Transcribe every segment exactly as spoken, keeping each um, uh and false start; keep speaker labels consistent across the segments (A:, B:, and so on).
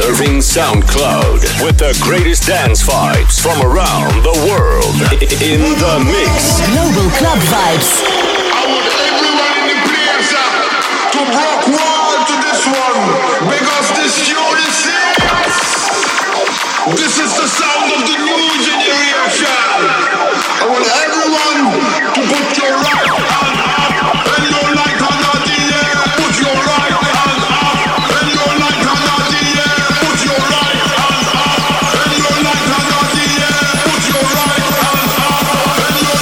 A: Surfing SoundCloud with the greatest dance vibes from around the world. In the mix.
B: Global Club Vibes.
C: I want everyone in the place uh, to rock wall to this one because this tune is serious. This is the sound of the new generation. I want everyone to put your right hand up and your right hand out in the air. Put your right hand up and your right hand out in the air. Put your right hand up and your right hand out in the air. Put your right hand up and your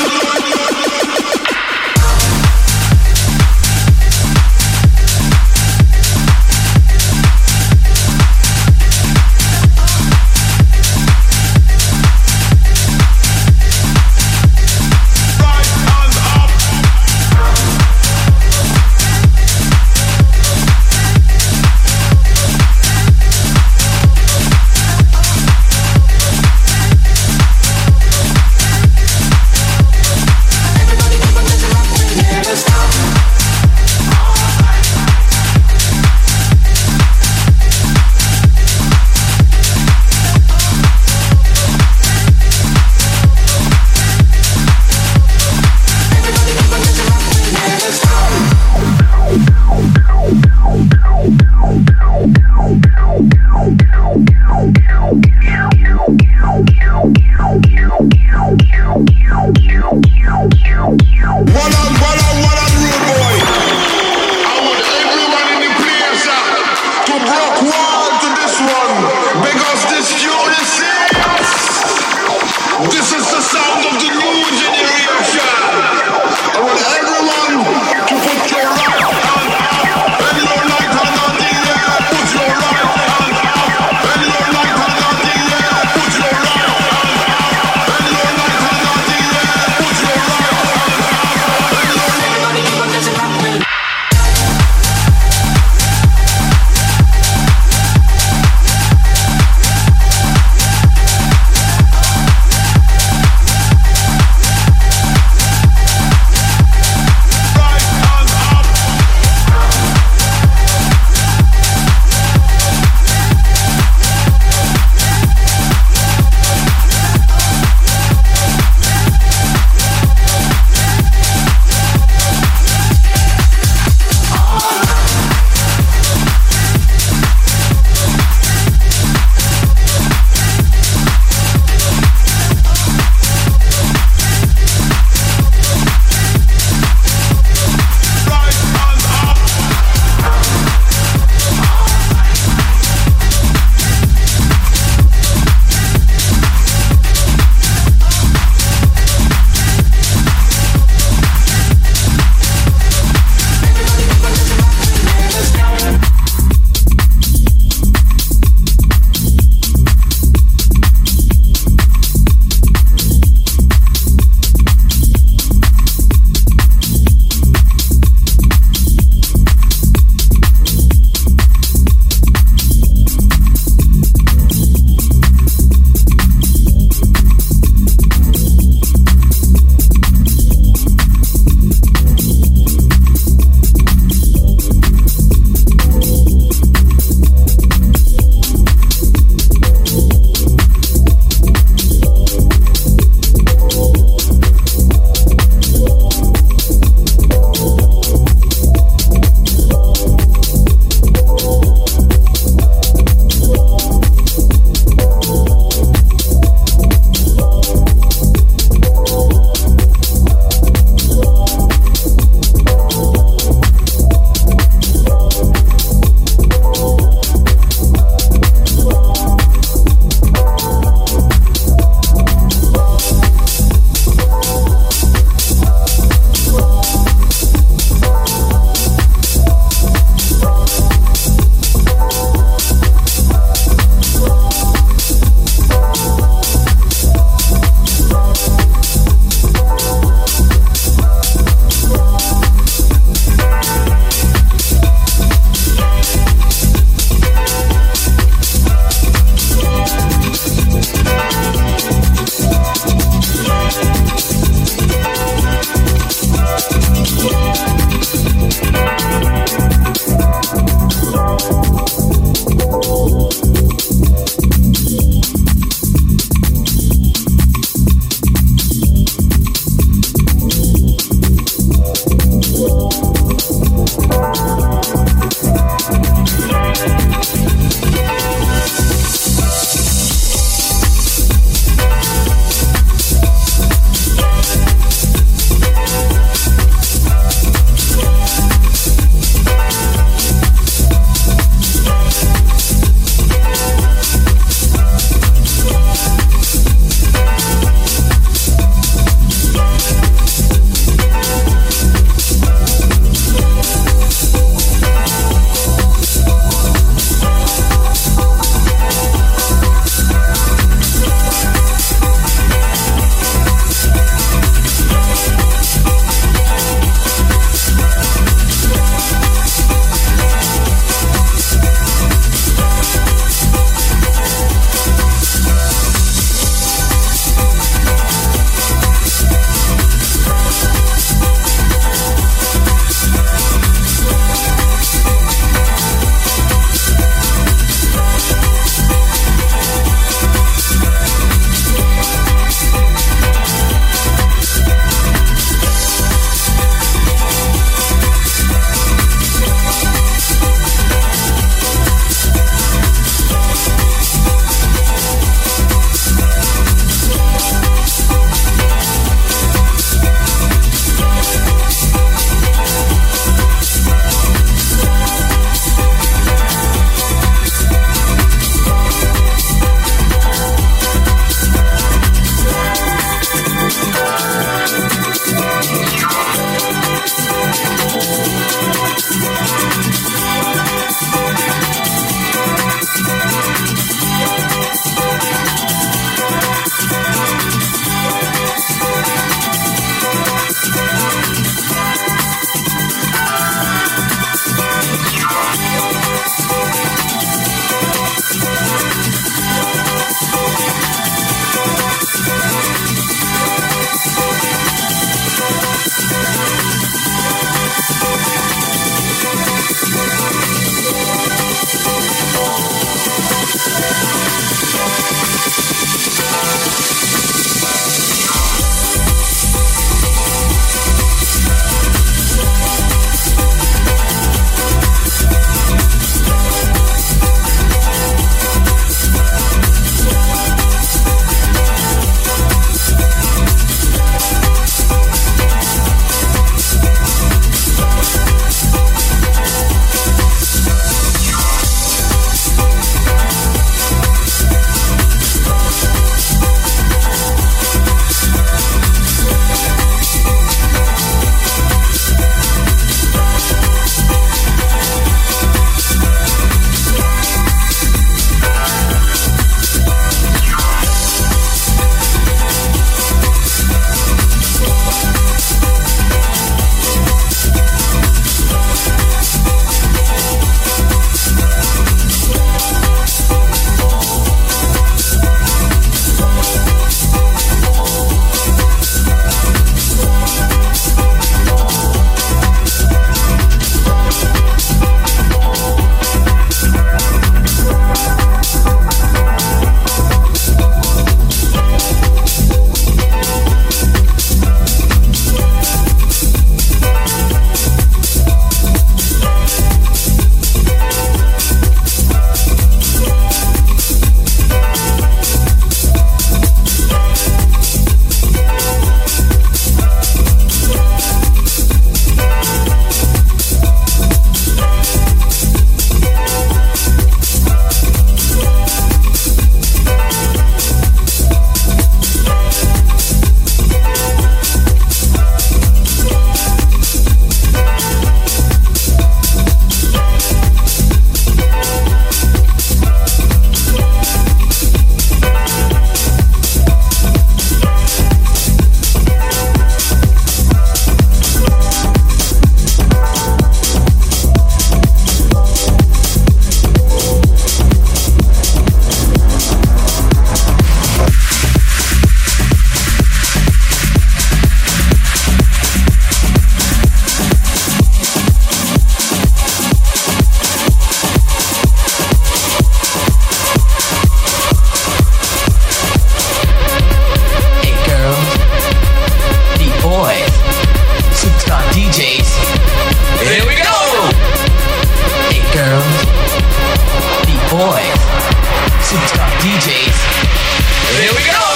D: Js. Here we go!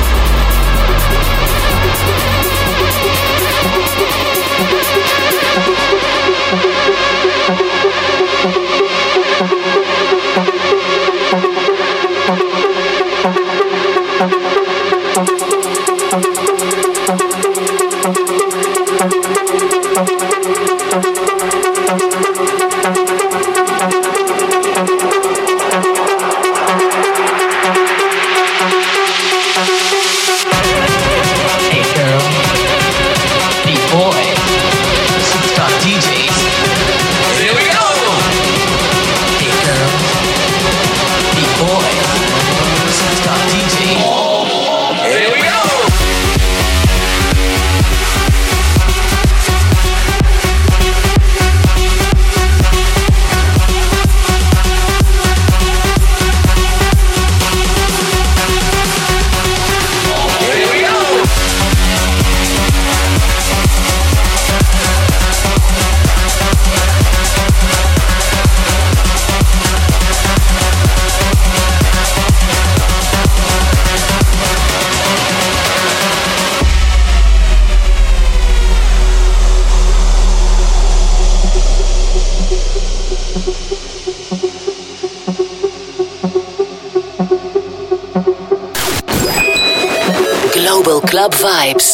B: Club Vibes.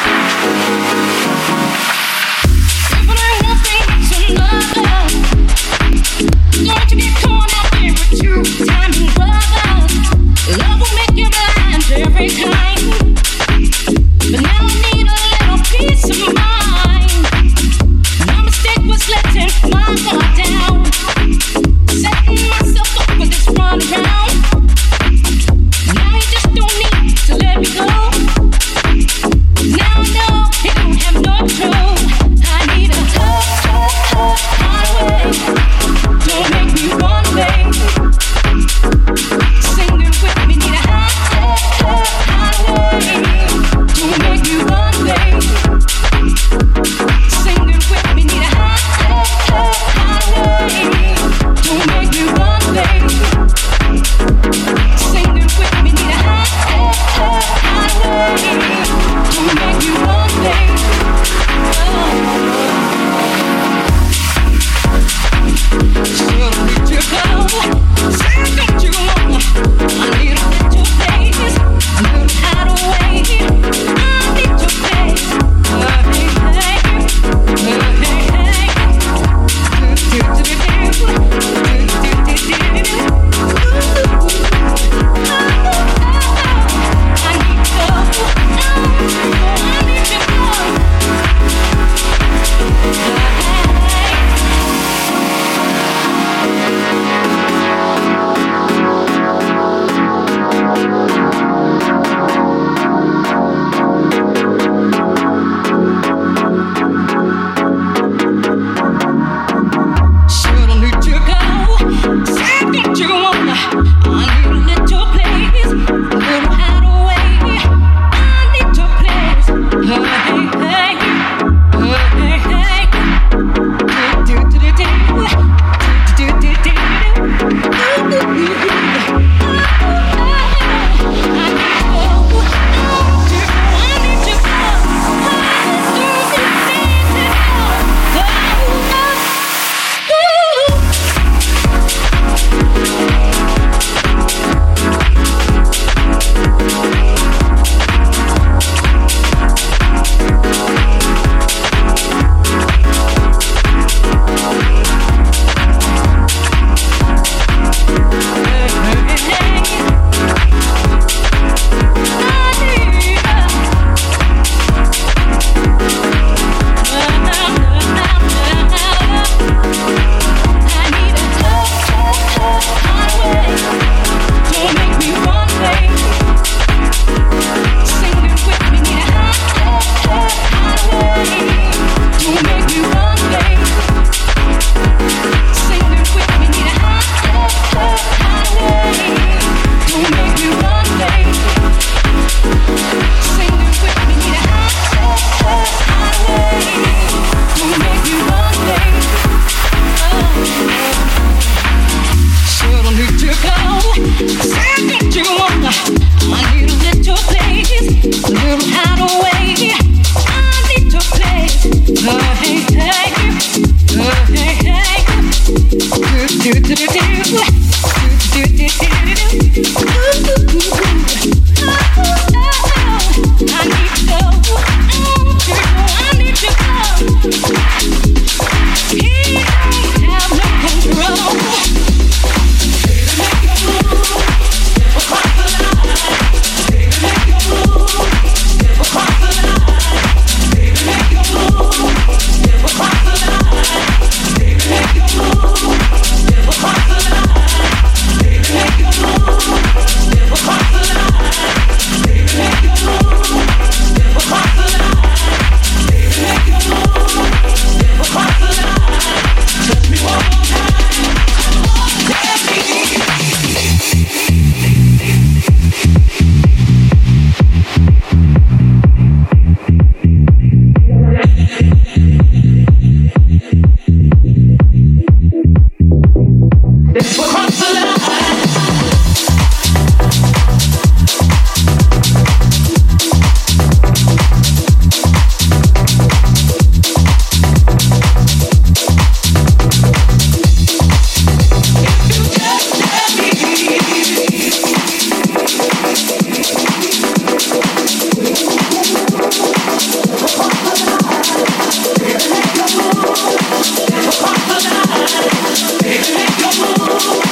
E: If I want things to love Baby, make your move.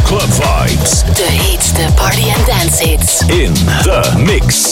A: Club vibes.
B: De heetste party and dance hits.
A: In the mix.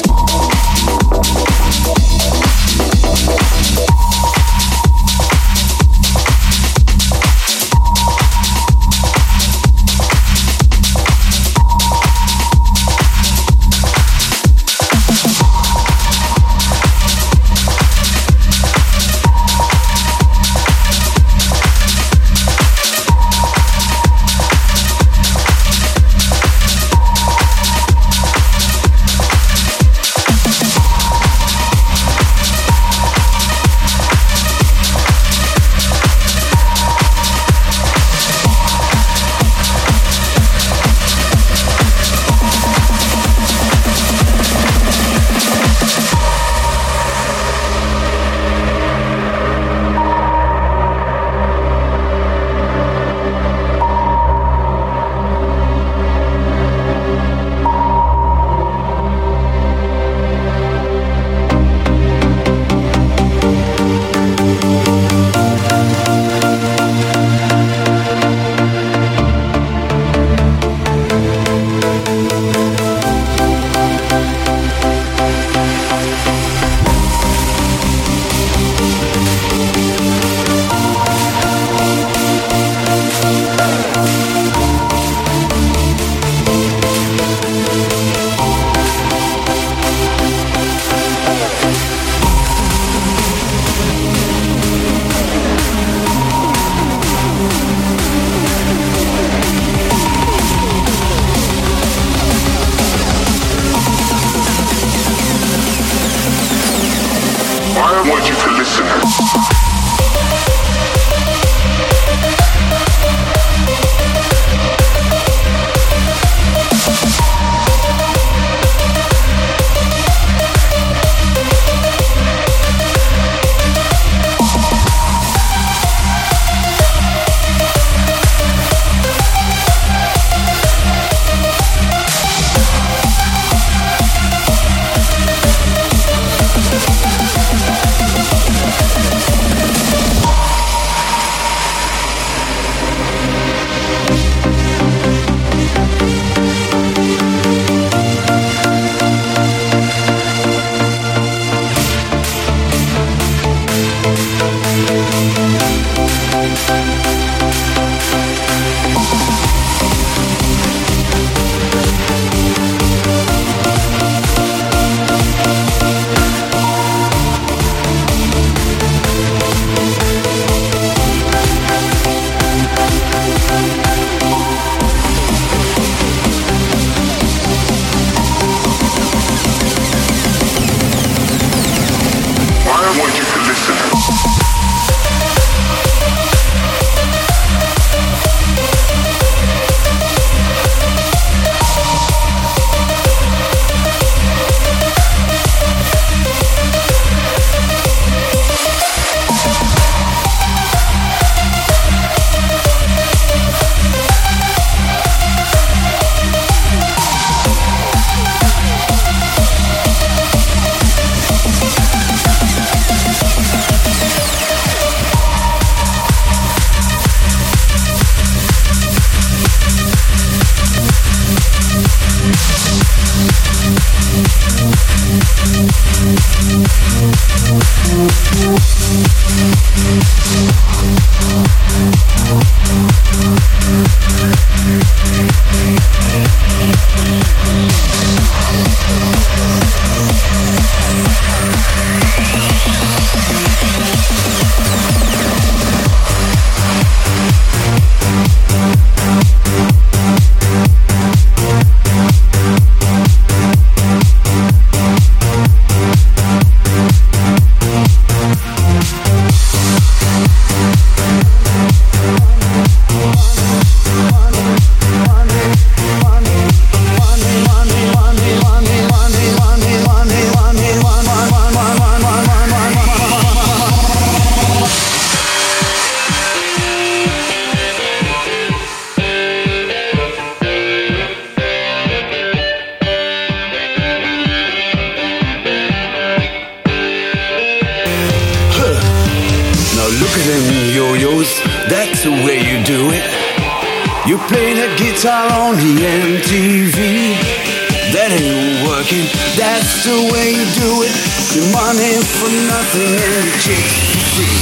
E: play the guitar on the M T V. That ain't working, that's the way you do it. Your money for nothing and the chicks for free.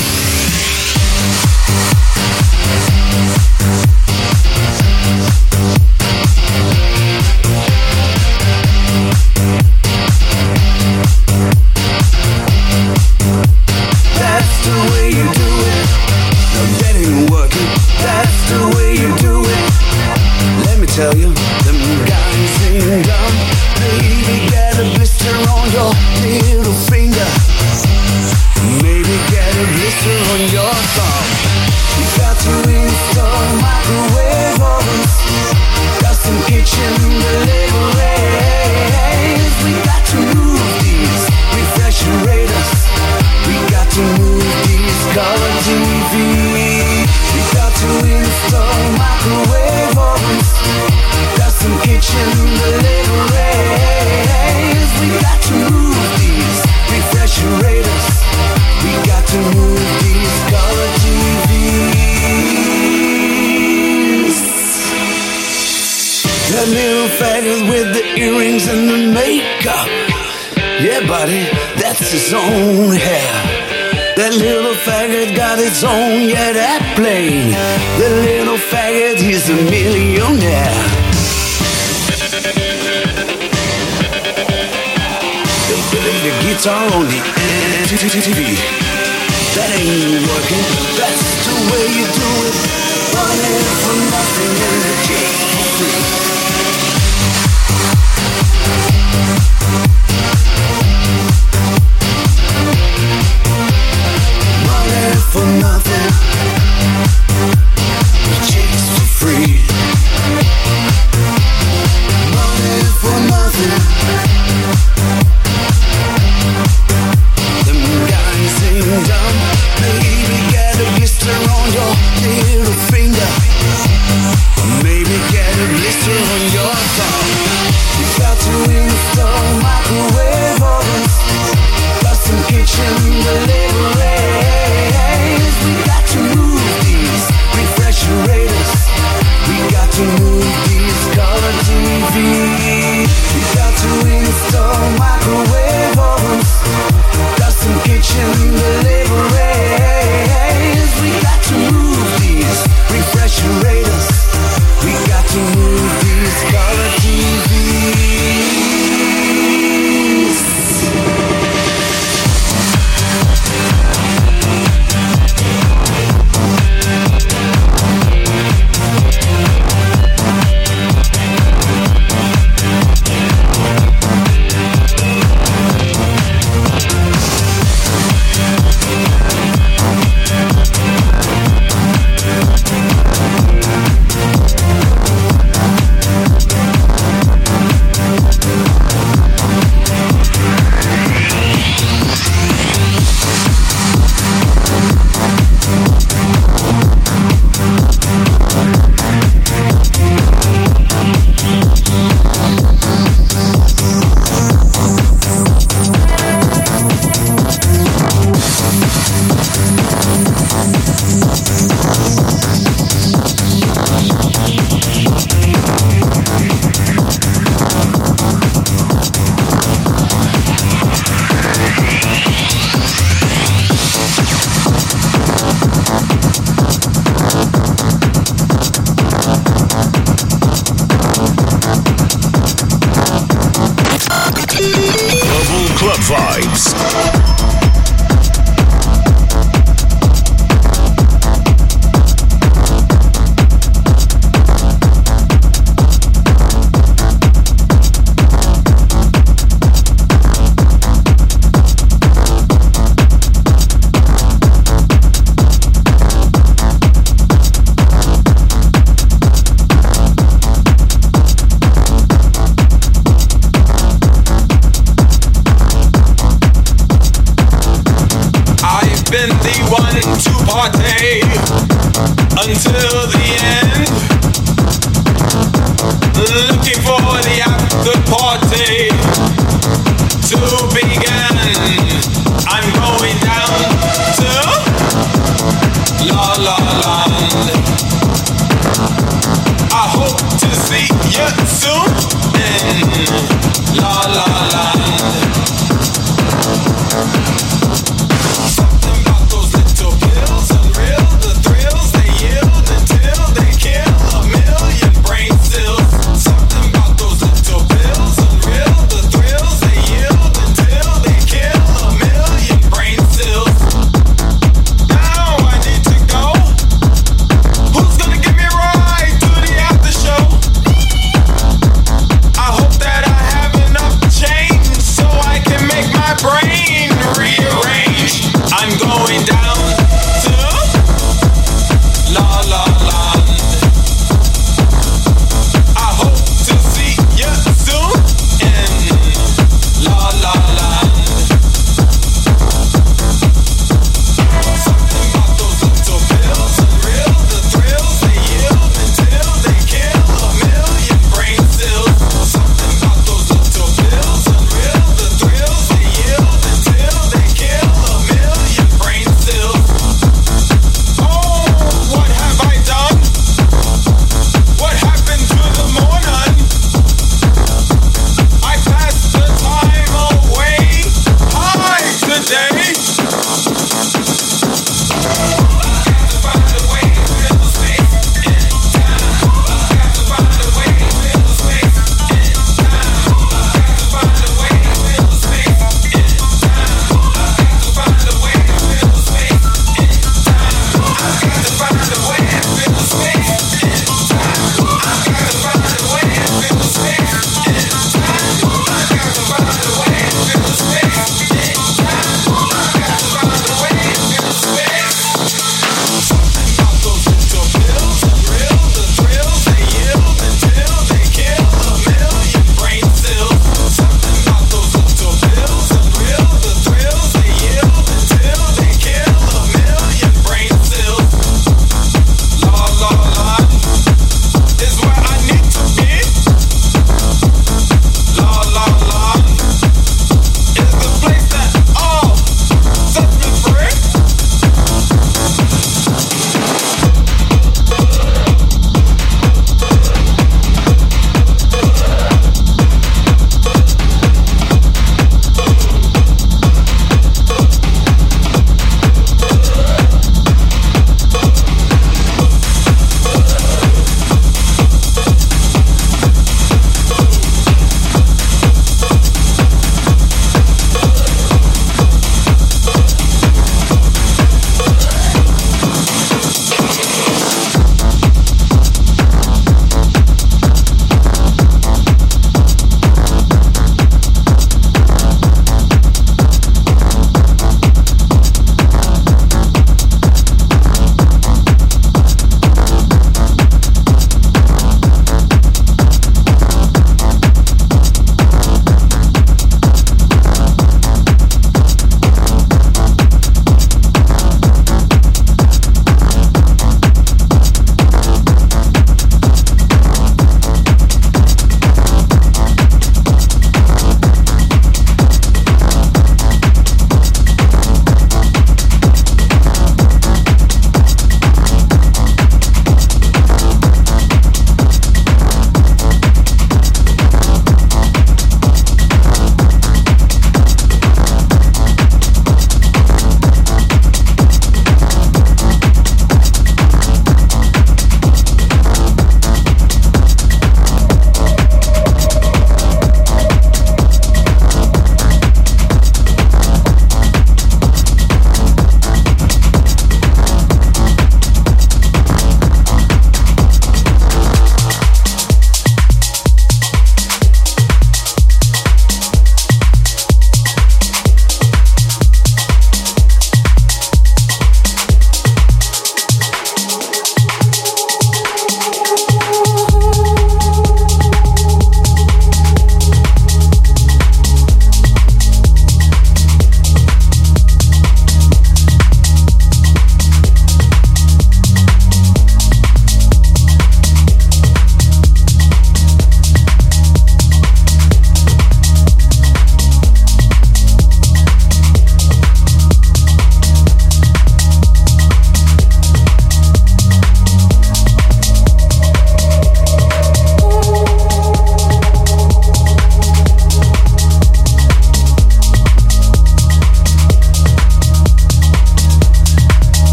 E: That's the way you do it. No, that ain't working, that's the way you do it. Let me tell you, them guys ain't dumb. Baby, get a blister on your little finger. Maybe get a blister on your thumb. You got to install microwave ovens, custom kitchen deliveries. We got to move these refrigerators. We got to move these color T V. We got to install microwave ovens, custom kitchen deliveries. We got to move these refrigerators. We got to move these color T Vs. That little faggot with the earrings and the makeup. Yeah, buddy, that's his own hair. That little faggot got his own, yeah, that plane. The little faggot, he's a millionaire. They play the guitar on the M T V. That ain't working, that's the way you do it. Money for nothing and the chicks for free. For nothing, the chicks for free. Money for nothing. Them guys ain't dumb. Baby, get a blister on your little finger.
F: see you soon in La La Land. Something about those little pills, unreal, the thrills they yield until they kill a million brain cells. Something about those little pills, unreal, the thrills they yield until they kill a million brain cells. Now I need to go. Who's gonna give me a ride to the after show? I hope that I have enough change so I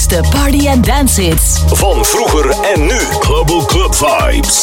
B: grootste party- en dance-hits.
A: Van vroeger en nu. Global Club Vibes.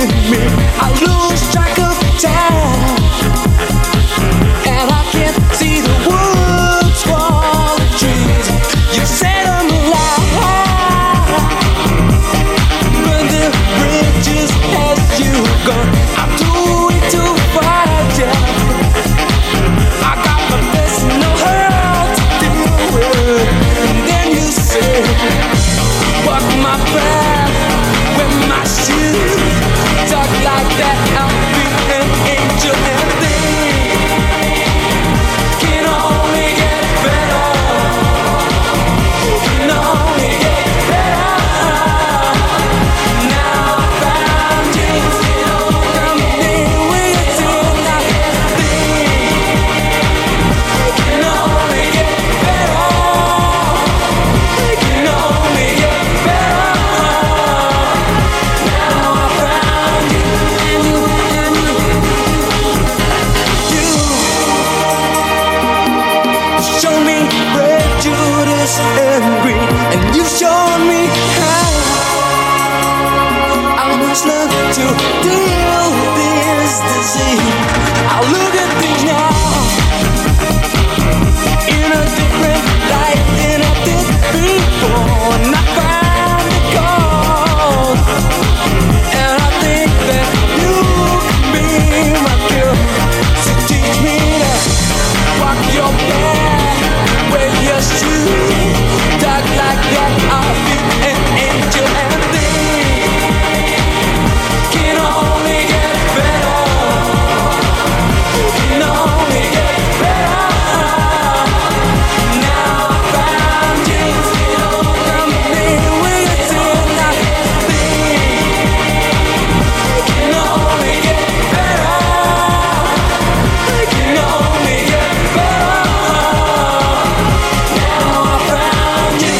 E: me. I lose track of time, and I can't see the woods for the trees. You set them alive, burn the bridges as you go. I'm too weak to fight ya. I got my personal hell to deal with. And then you say, walk my path, wear my shoes, talk like that, I'll be an angel. And things can only get better, can only get better. Now I found you, come in with you tonight. Things can only get better, can only get better. Now I found you, and you, and you, you show me prejudice and greed, and you showed me how I must learn to deal with this disease. I look at things now in a different light than I did before, and I found the cause, and I think that you can be my cure. So teach me to walk your path, wear your shoes, talk like that, I'll be an angel. And things can only get better, can only get better. Now I found you, come in with you tonight. Things can only get better, can only get better. Now I found you,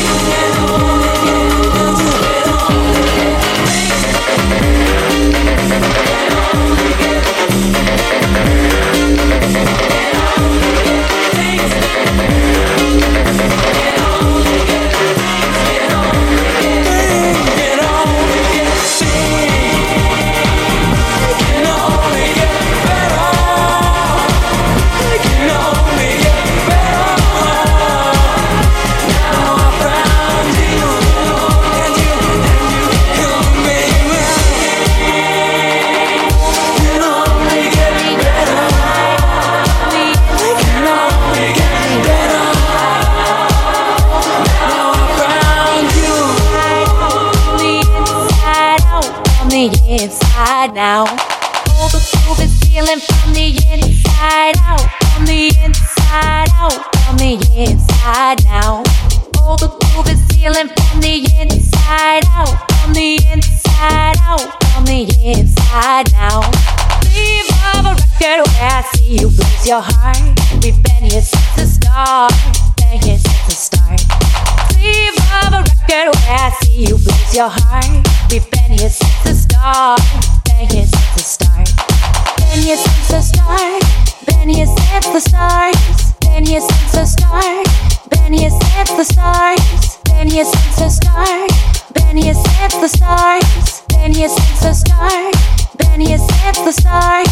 G: inside now. All the groove is feeling from the inside out, from the inside out, from the inside now. All the groove is feeling from the inside out, from the inside out, from the inside now. Leave of a record where I see you lose your heart. We've been here since the start, been here since the start. Leave of a record where I see you lose your heart. We've been here since the start, been here since the start. Been here since the start, been here since the start. Been here since the start, been here since the start. Been here since the start, been here since the start. Been here since the start, been here since the start.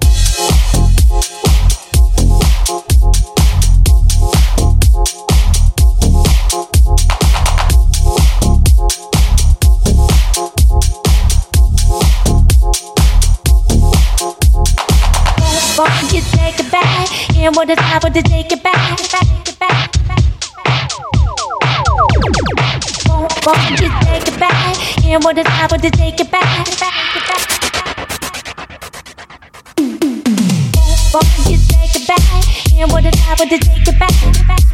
G: Won't you take it back? And what is I want to take it back? Take it back. Won't, won't you take it back? And what is I want to take it back? Won't you take it back? And what is I want to take it back?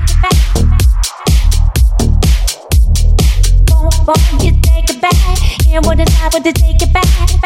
G: Won't, won't you take it back? And what is I want to take it back?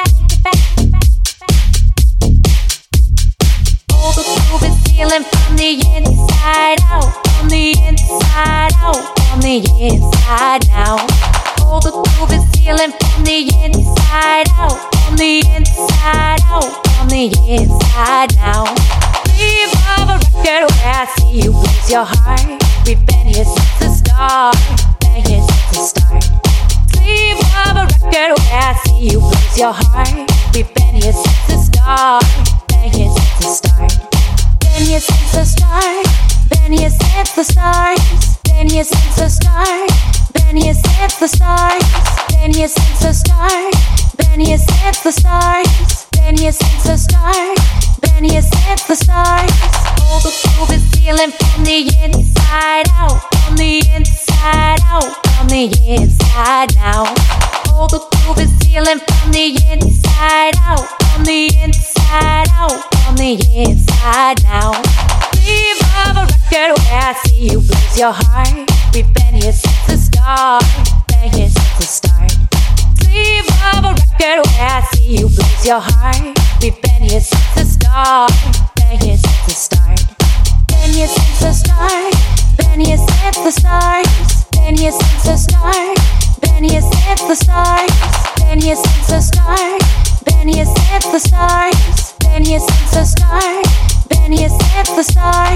G: All the groove is feeling from the inside out, from the inside out, from the inside now. All the groove is feeling from the inside out, from the inside out, from the inside now. Leave of a record where I see you lose your heart. We've been here since the start, been here since the start. Leave of a record where I see you lose lose your heart. We've been here since the start. Been here since the start. Been here since the start. Been here since the start. Been here since the start. Been here since the start. Been here since the start. Been here since the start. Been here since the start. Been here since the start. All the groove is feeling from the inside out. From the inside out. From the inside now. All the groove is feeling from the inside out. From the inside out. From the inside now. Leave of a record where I see you lose your heart. We've been here since the start. Been here since the start. Leave of a record where I see you lose your heart. We've been here since the start. Been here since the start. Been here since the start. Been here since the start. Been here since the start. Been here since the start. Been here since the start. Been here since the start. Been here since the start. Been here since the start.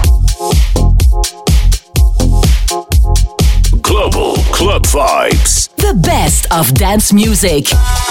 A: Global Club Vibes.
B: The best of dance music.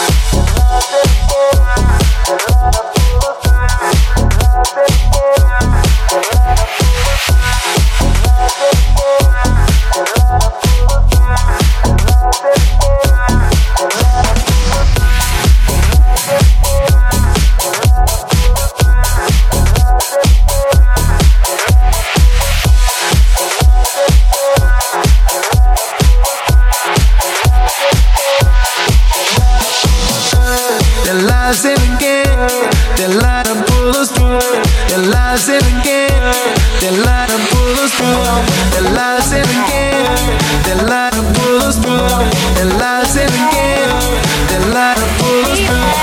E: Lies in again, they lie to pull us through. They lies in again, they lie to pull us through. They lies in again, they lie to pull us through. They lies in again, they lie to pull us through.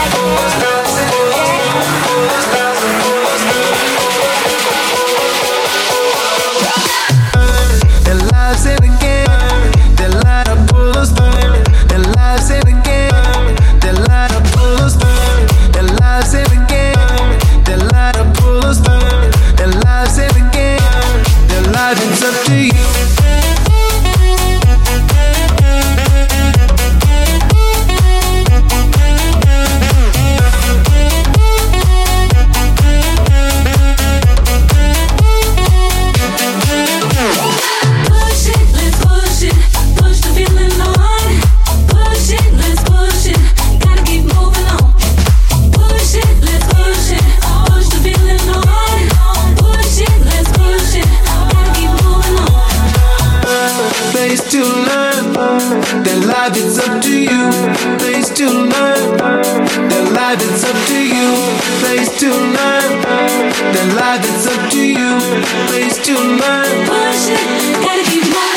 E: They lies in again, they lie to pull us through. They lies in again, they lie to pull us through. Their lives in again, their lie to pull us through. Their lives in again, their life, it's up to you. To learn, their life it's up to you. Place to learn, their life it's up to you. Place to learn, their life it's up to you. Place to learn. Push it, gotta keep moving.